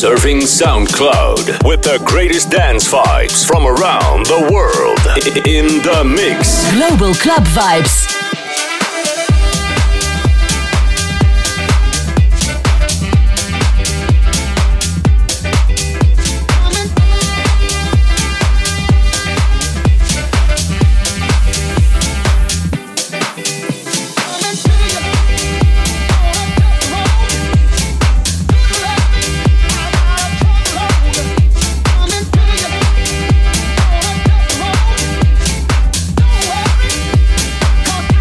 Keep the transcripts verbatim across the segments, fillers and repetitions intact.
Surfing SoundCloud with the greatest dance vibes from around the world. In the mix. Global Club Vibes. Come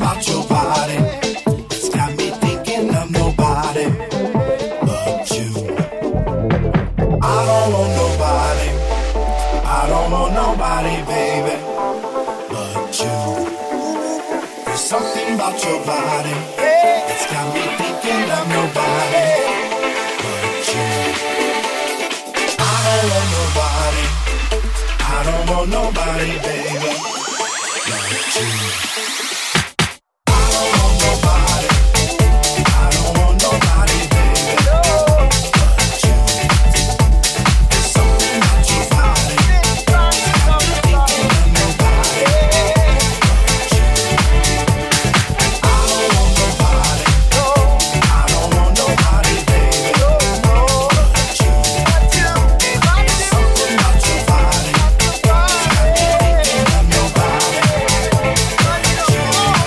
about your body. It's got me thinking of nobody but you. I don't want nobody. I don't want nobody, baby, but you. There's something about your body. It's got me thinking of nobody but you. I don't want nobody. I don't want nobody, baby, but you. I don't want nobody. I don't want nobody, baby, but you. There's something about your body. It's got me thinking of nobody but you. I don't want nobody. I don't want nobody, baby, but you. There's something about your body. It's got me thinking of nobody but you.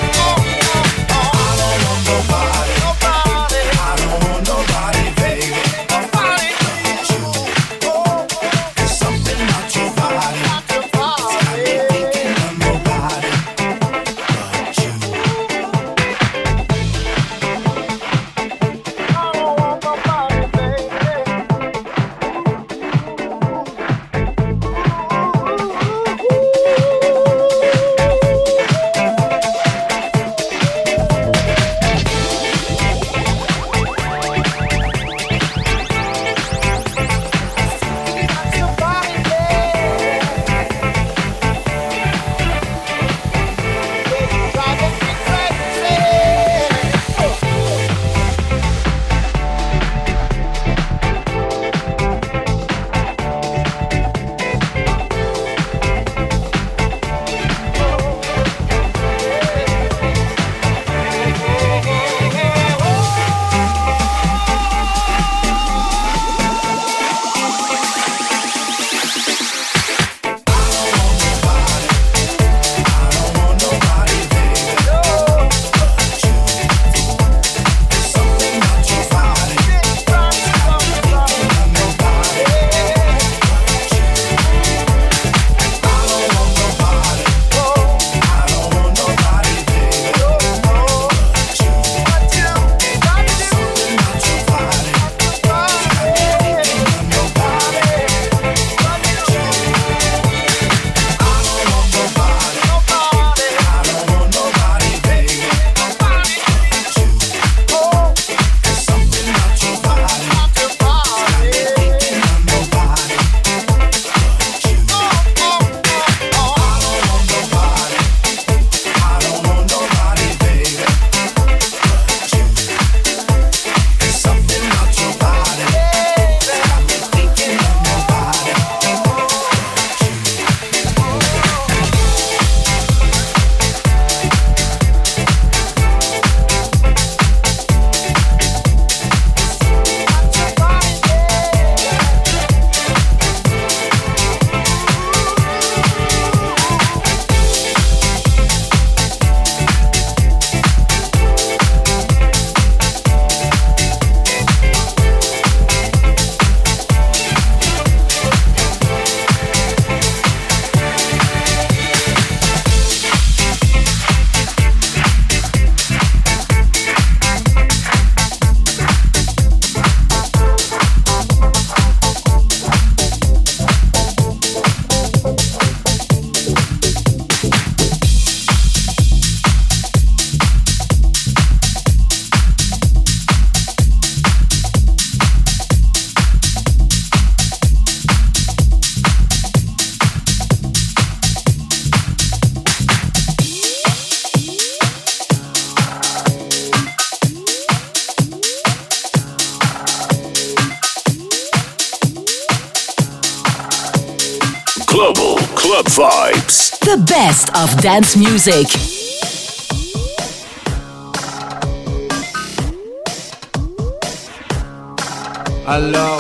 I don't want nobody. I don't want nobody, baby, but you. There's something about your body. It's got me thinking of nobody but you. Global Club Vibes. The best of dance music. Alors,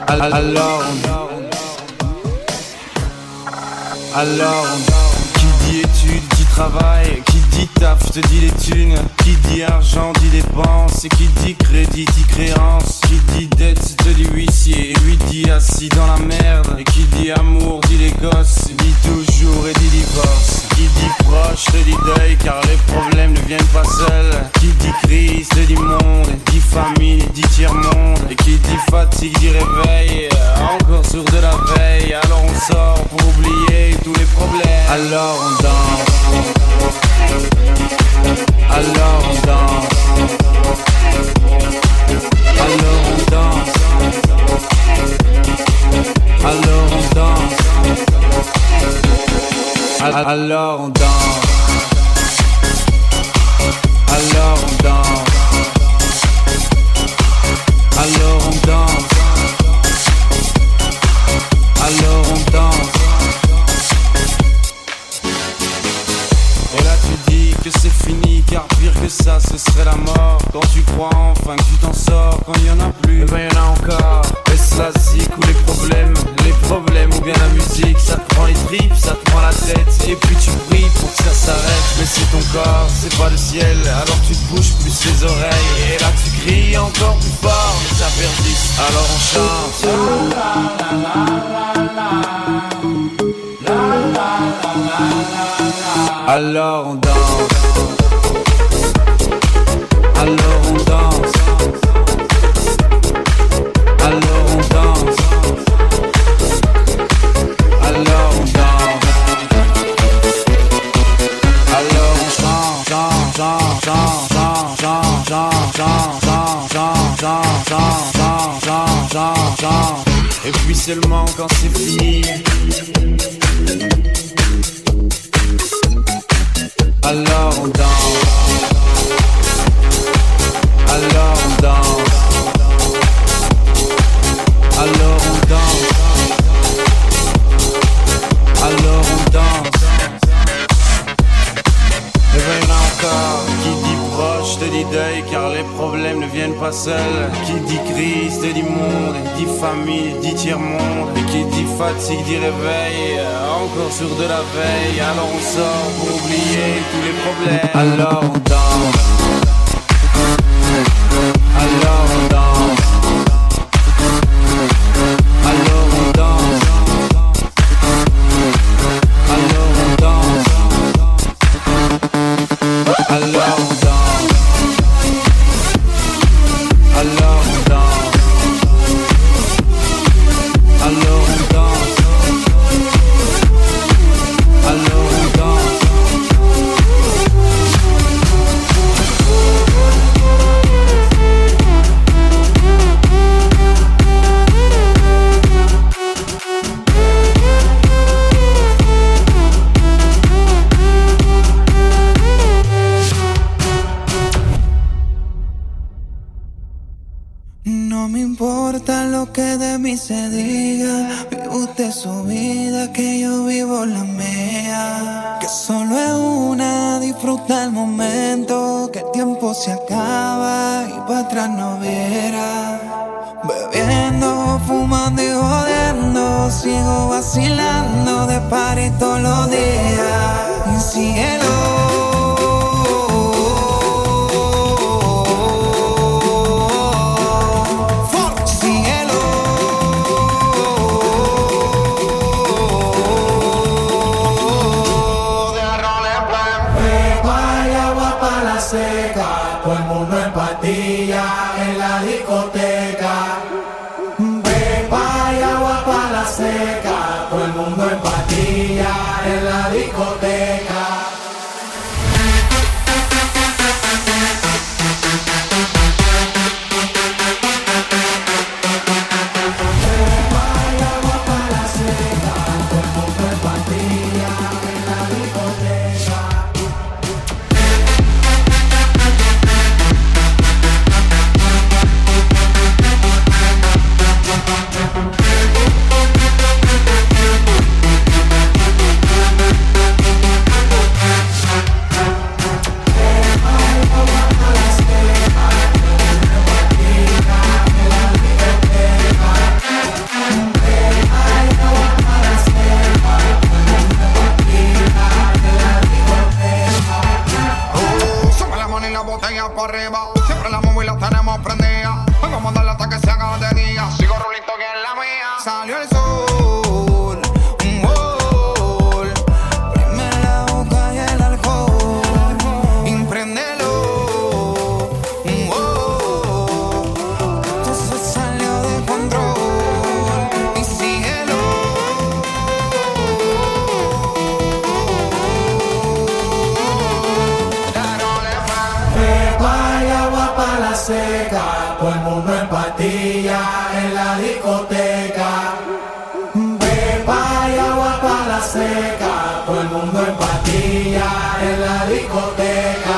alors, alors, qui dit dit études, dit travail. Qui dit taf, je te dis les thunes. Qui dit argent, dit dépenses. Et qui dit crédit, dit créance. Qui dit dette, te dit huissier. Et lui dit assis dans la merde. Et qui dit amour, dit les gosses. Dit toujours et dit divorce. Qui dit proche, te dit deuil, car les problèmes ne viennent pas seuls. Qui dit crise, te dit monde. Dit famille, dit tiers-monde. Et qui dit fatigue, dit réveil. Encore sourd de la veille. Alors on sort pour oublier tous les problèmes. Alors on danse. Alors on danse. Alors on danse. Alors on danse. Alors on danse. Alors on danse. Alors on danse. Alors on danse. Et là tu dis que c'est fini, car pire que ça ce serait la mort. Quand tu crois enfin que tu t'en sors, quand il y en a plus, eh ben y en a encore. Et ça zik ou les problèmes, les problèmes ou bien la musique. Ça te prend les tripes, ça te prend la tête. Et puis tu pries pour que ça s'arrête. Mais c'est ton corps, c'est pas le ciel. Alors tu te bouges plus les oreilles. Et là tu cries encore plus fort, mais ça persiste. Alors on chante. Alors on danse. Alors on danse. Alors on danse. Alors on danse. Alors on chante, chante, chante, chante, chante, chante, chante, chante, chante, chante, chante, chante, chante. Et puis seulement quand c'est fini, alors on danse. Alors on danse. Alors on danse. Alors on danse. Et ben y'en a encore. Qui dit proche te dit deuil, car les problèmes ne viennent pas seuls. Qui dit crise te dit monde. Dit famille, dit tiers-monde. Et qui dit fatigue dit réveil. Encore sourd de la veille. Alors on sort pour oublier tous les problèmes. Alors on danse. Alors on danse. Alors on danse. Alors on danse. Alors on danse. Alors on danse. Alors on danse. Alors on danse. No me importa lo que de mí se diga, vive usted su vida, que yo vivo la mía. Que solo es una, disfruta el momento, que el tiempo se acaba y para atrás no viera. Bebiendo, fumando y jodiendo, sigo vacilando de party todos los días. Y síguelo. Todo el mundo en patilla en la discoteca. Pepa y agua pa' la seca. Todo el mundo en patilla en la discoteca. Pepa y agua pa' la seca. Todo el mundo en patilla en la discoteca. para arriba. Siempre la móvil la tenemos prendida. Vamos a mandarla hasta que se haga de día. Sigo rulito que es la mía. Salió el sol, un gol. Prime la boca y el alcohol. Impréndelo, un gol. Esto se salió de control. Y síguelo. Pepa y agua para la seca, todo el mundo en patilla en la discoteca. Pepa y agua para la seca, todo el mundo en patilla en la discoteca.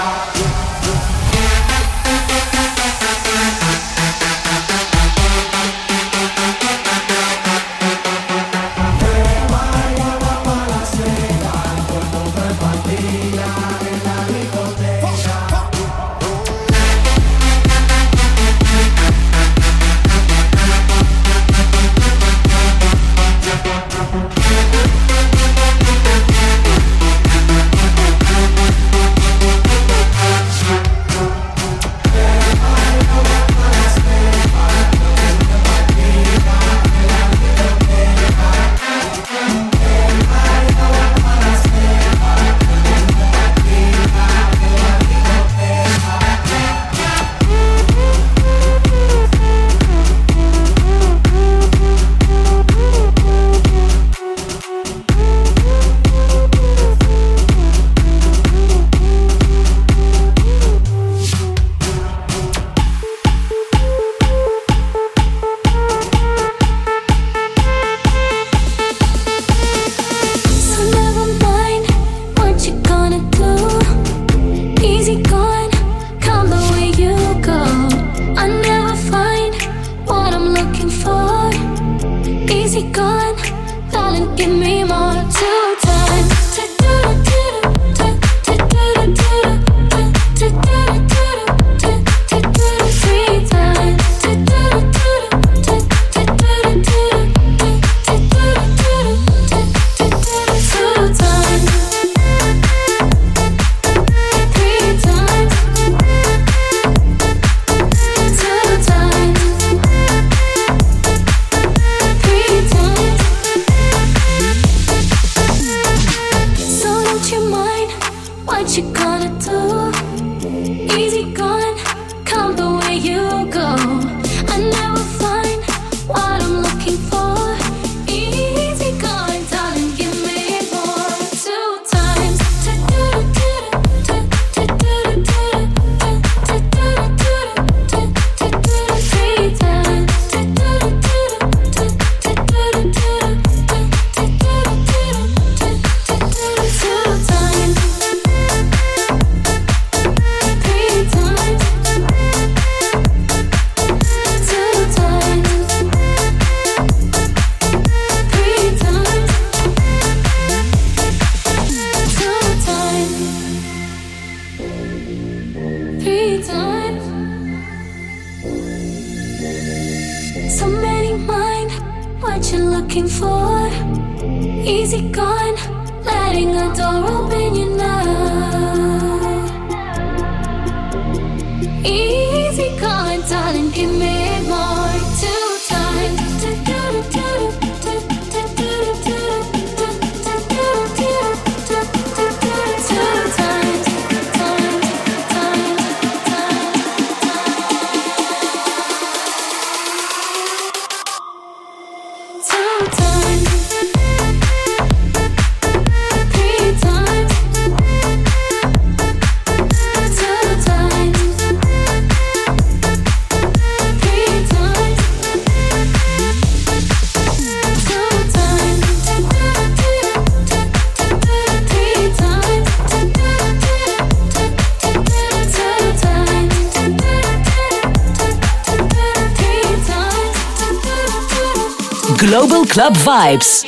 Global Club Vibes.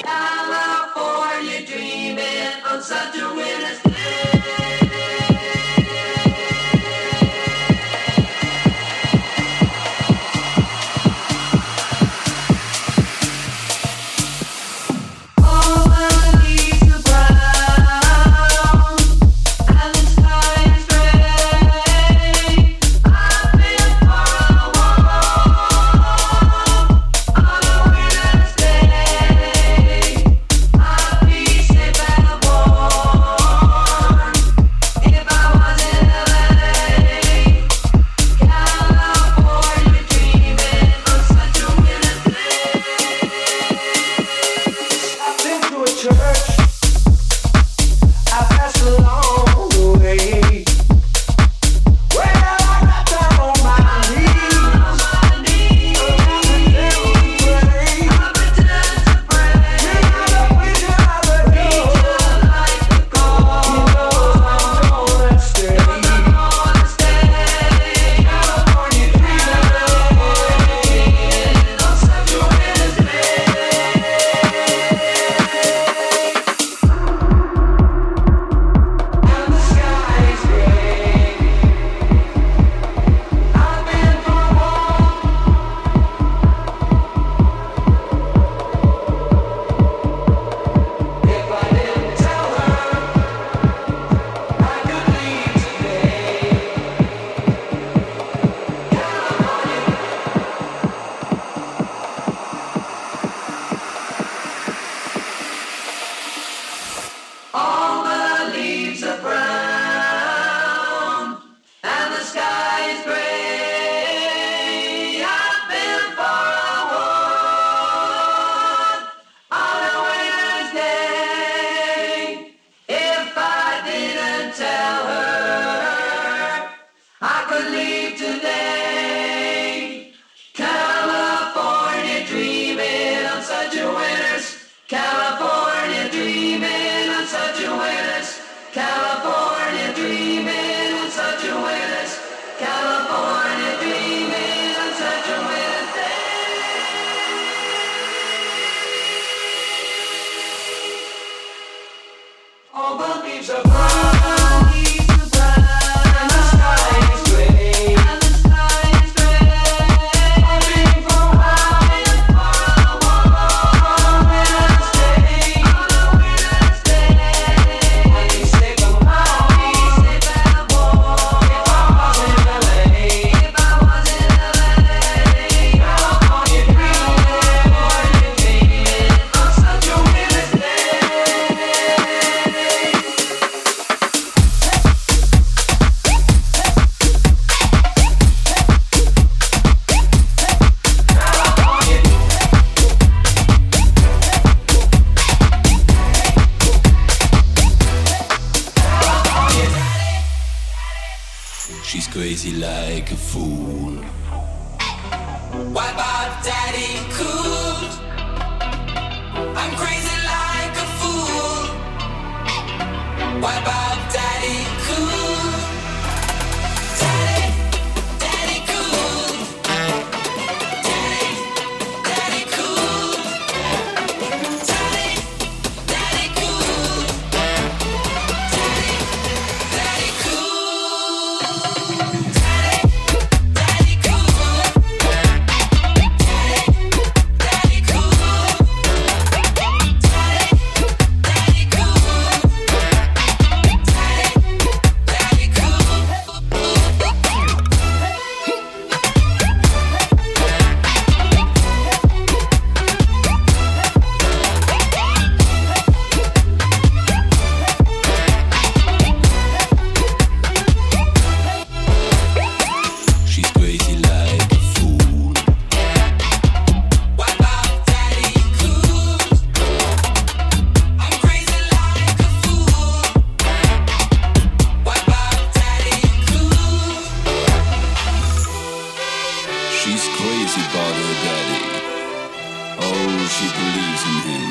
believe today. California dreaming on such a winners. California dreaming on such a winners. California dreaming on such a winners. California dreaming on such a winners day. All the leaves are brown. She's crazy like a fool. What about Daddy Cool? I'm crazy like a fool. What about Daddy Cool? Daddy, Daddy Cool. Daddy, Daddy Cool. Daddy, Daddy Cool. Daddy, Daddy Cool. She's crazy about her daddy. Oh, she believes in him.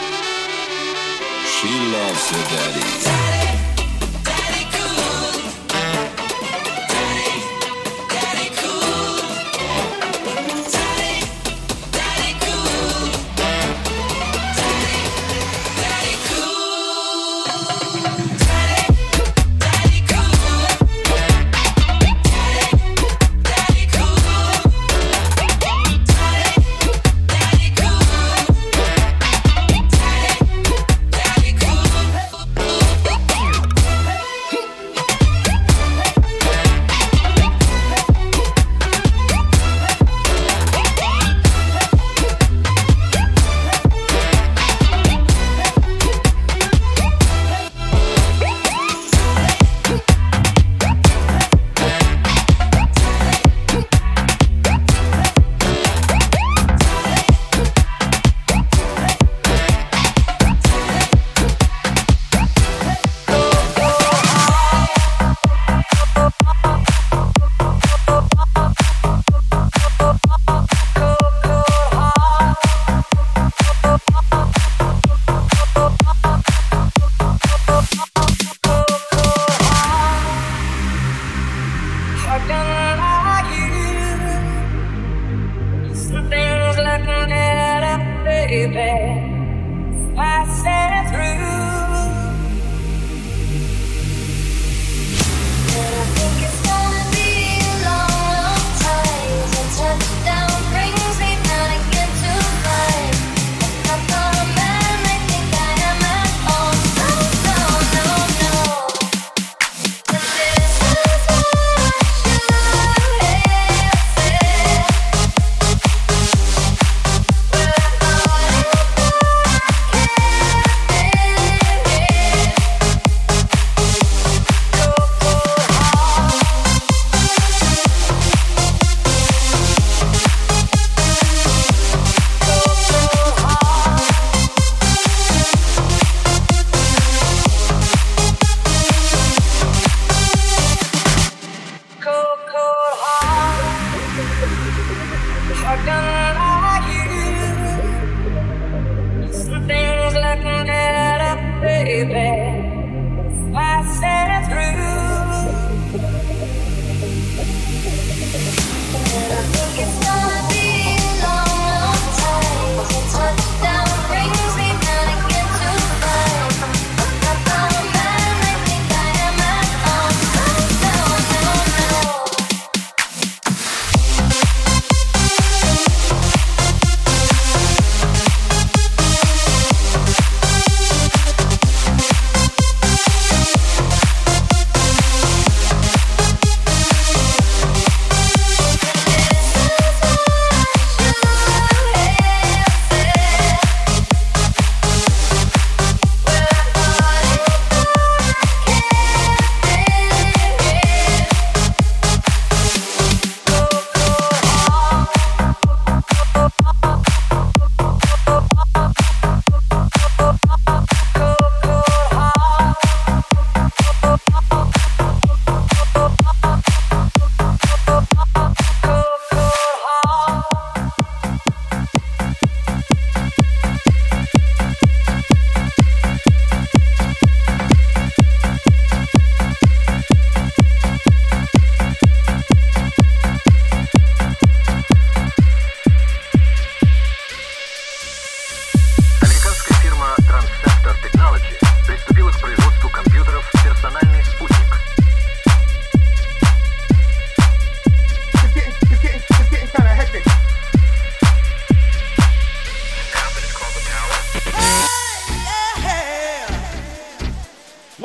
She loves her daddy. Daddy, Daddy Cool. Daddy, Daddy Cool. Daddy, Daddy Cool. Daddy, Daddy Cool. Daddy, Daddy Cool. Daddy, Daddy Cool. Daddy, Daddy Cool.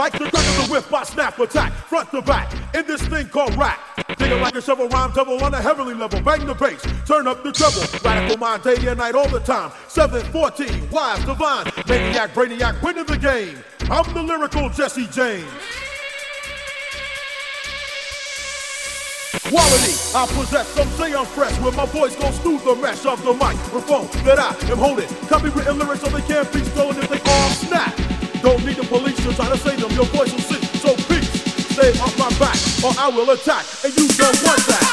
Like the crack of the whip, I snap attack, front to back, in this thing called rap. Dig it like a shovel, rhyme double on a heavenly level. Bang the bass, turn up the treble. Radical mind day and night all the time. seven fourteen, wise, divine, maniac, brainiac, winning the game. I'm the lyrical Jesse James. Quality, I possess, some say I'm fresh. When my voice goes through the mesh of the microphone that I am holding. Copywritten lyrics so they can't be stolen if they all snap. Don't need the police to try to say them, your voice will sing. So peace, stay off my back or I will attack, and you don't want that.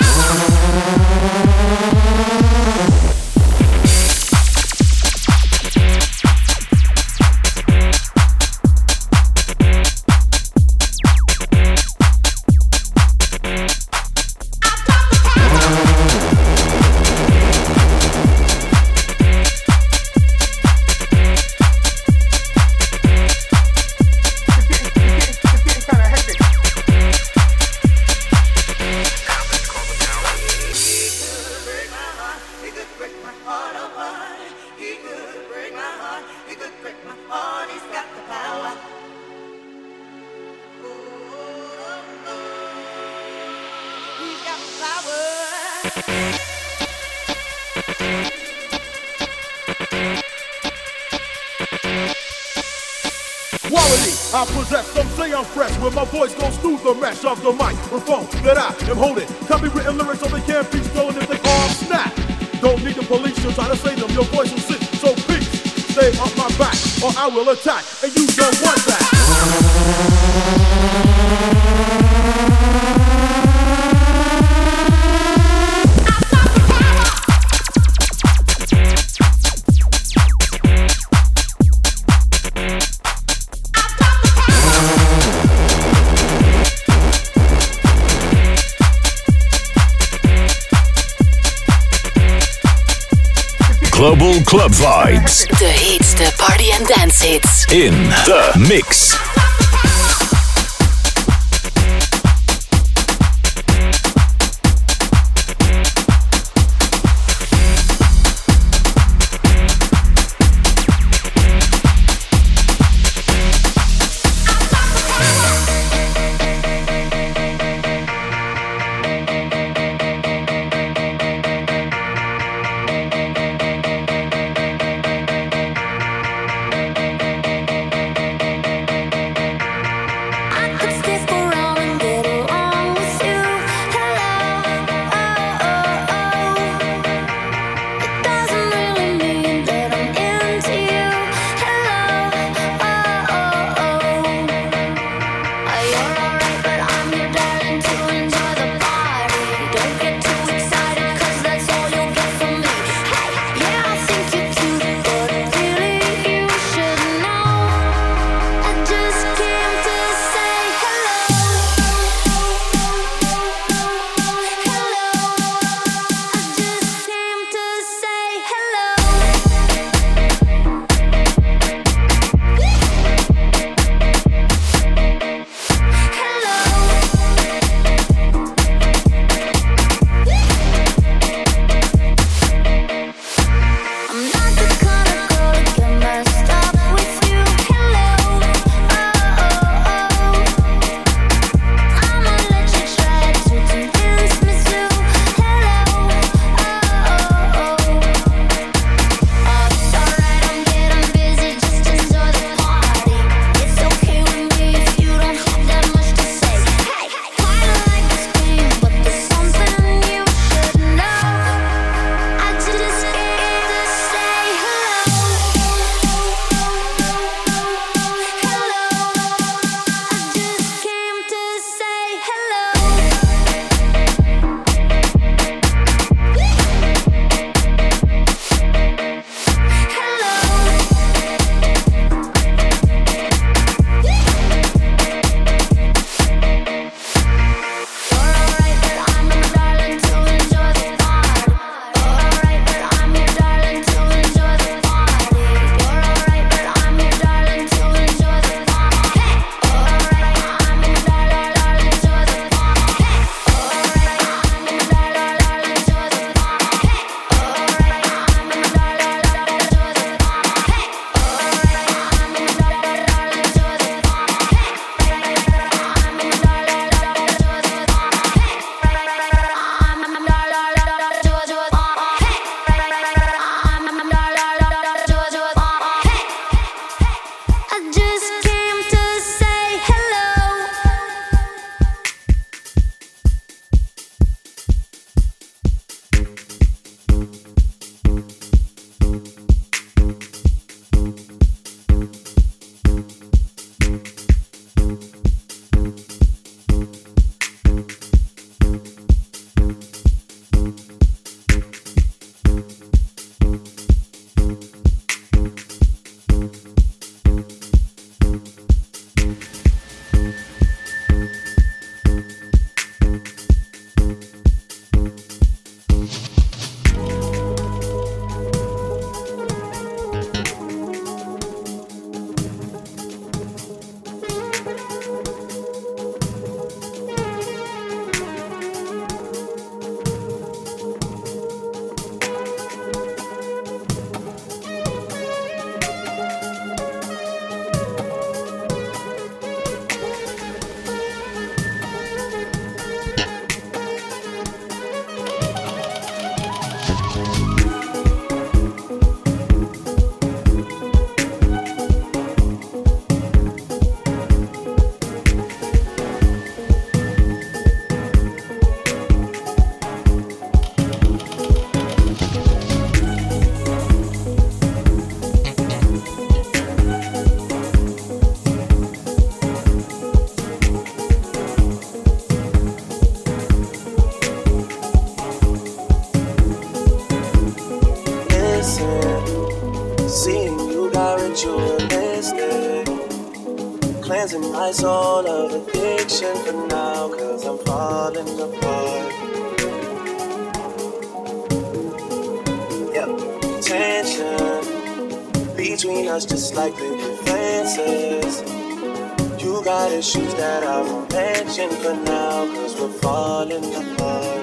Quality, I possess, some say I'm fresh. When my voice goes through the mesh of the microphone that I am holding. Copywritten lyrics so they can't be stolen if they all snap. Don't need the police to try to say them, your voice will sing. So peace, stay off my back or I will attack, and you don't want that. Global Club Vibes. De heetste party- en dance hits. In the mix. my soul of addiction for now, cause I'm falling apart. Yep, tension between us just like living fences. You got issues that I won't mention for now, cause we're falling apart.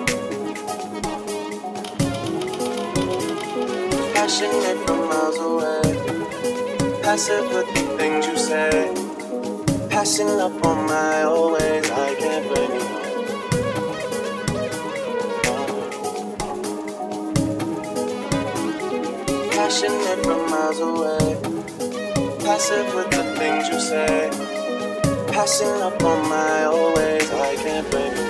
Passionate from miles away, passive with the things you say. Passing up on my old ways, I can't bring you home. Passionate from miles away, passive with the things you say. Passing up on my old ways, I can't bring you home.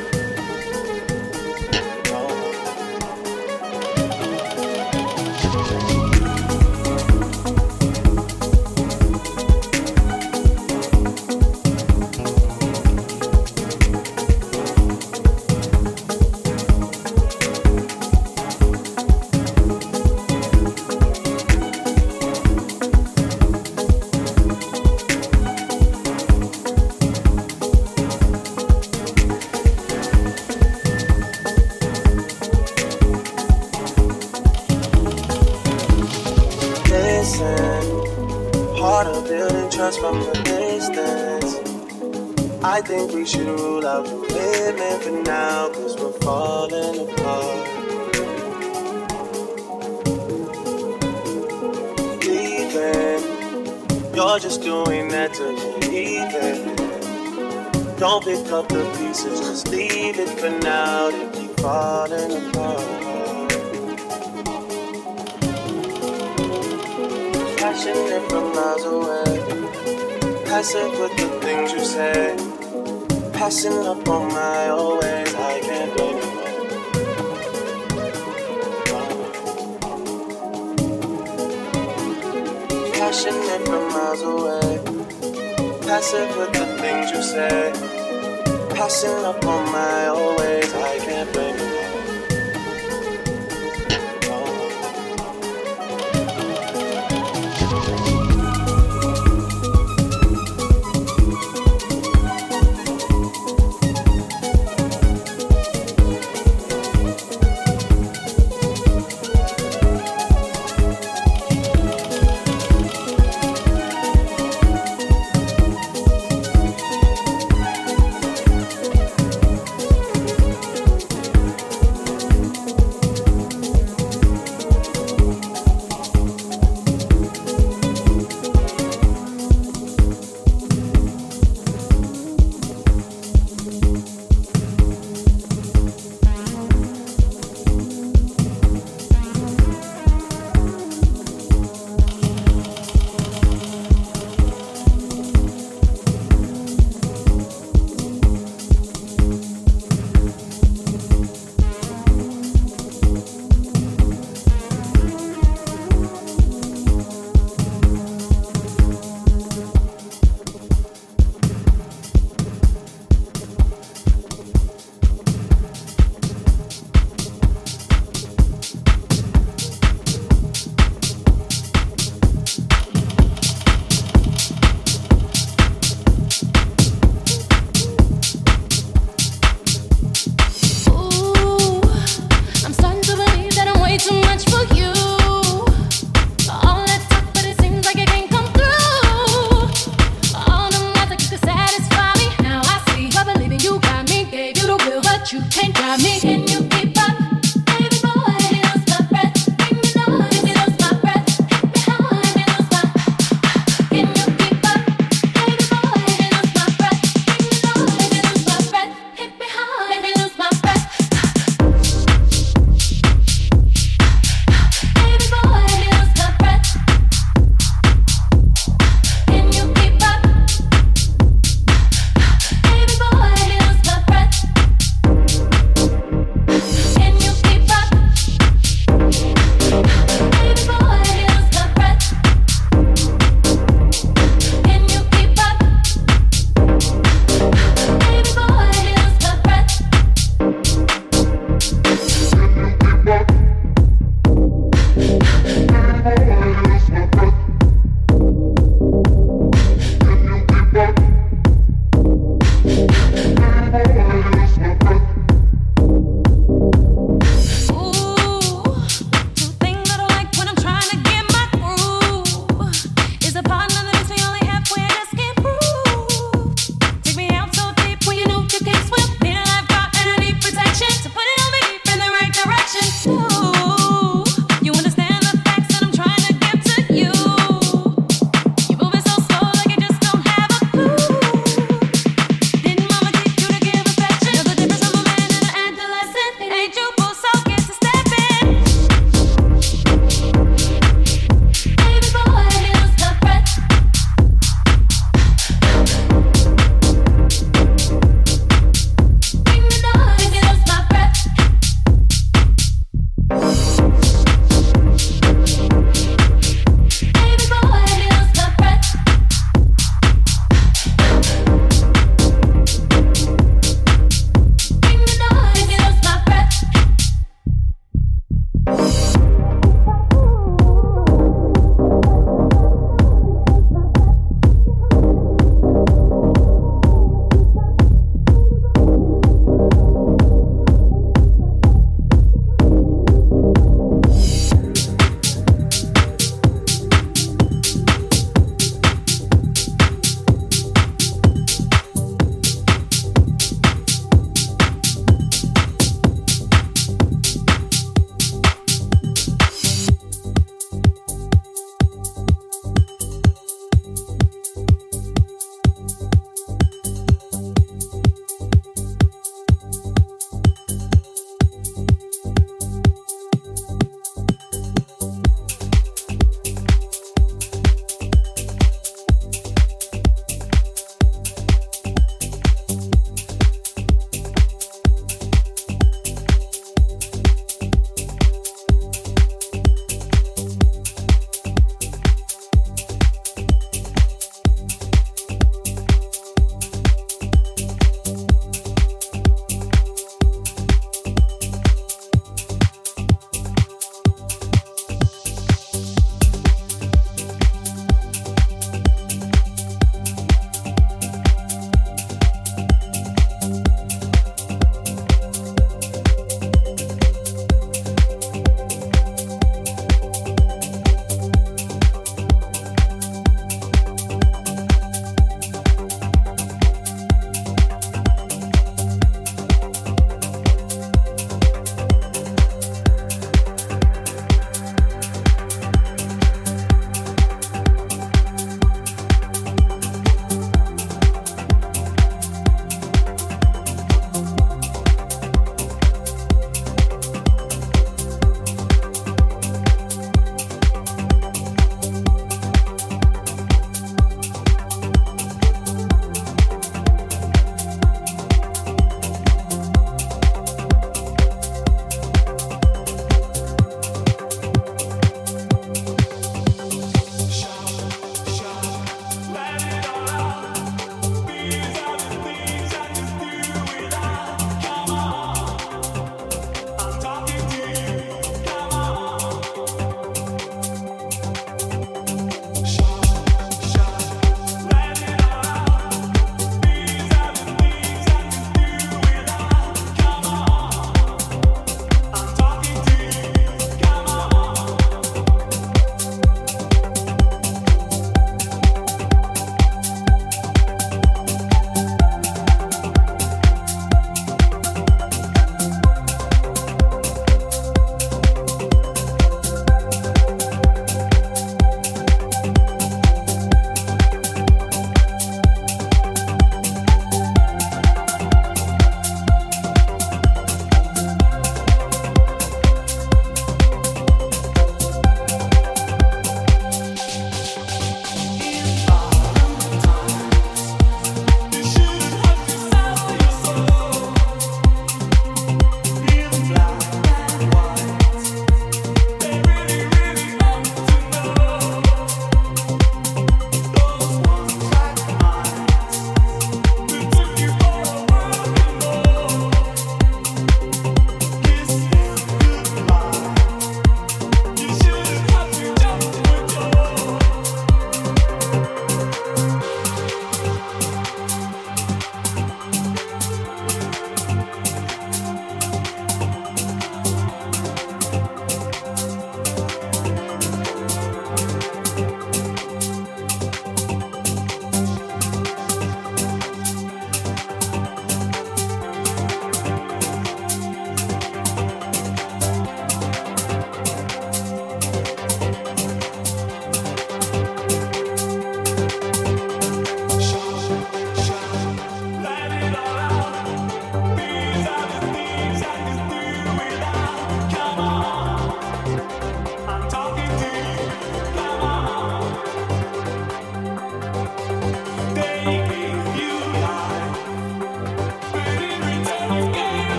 From the distance, I think we should rule out the women for now, cause we're falling apart. Leaving, you're just doing that to leave it. Don't pick up the pieces, just leave it for now. They keep falling apart. Passionate from miles away, passive with the things you say. Passing up on my old ways, I can't bring you home. Passionate from miles away, passive with the things you say. Passing up on my old ways, I can't bring you home.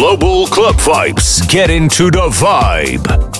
Global Club Vibes. Get into the vibe.